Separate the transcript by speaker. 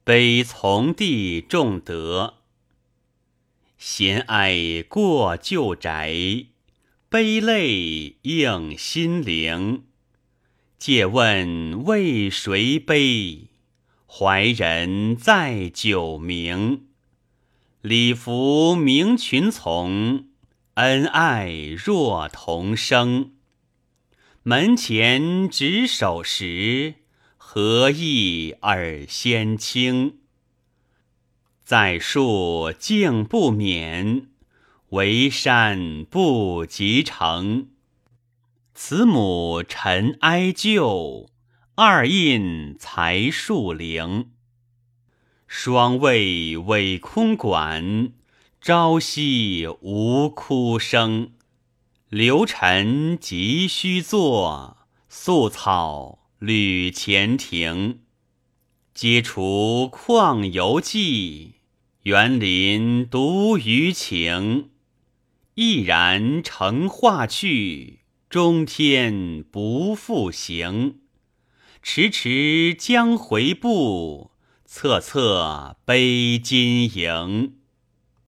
Speaker 1: 悲从弟重德。闲哀过旧宅，悲泪映新陵。借问为谁悲？怀人在酒茗。礼服明群从，恩爱若同生。门前执手时，何意尔先清。在树竟不免，为山不及成。慈母陈哀旧，二印才树陵。双卫委空馆，朝夕无哭声。流尘急须作，宿草履前庭。皆除旷游记，园林独余情。毅然乘化去，中天不复行。迟迟将回步，策策悲金营。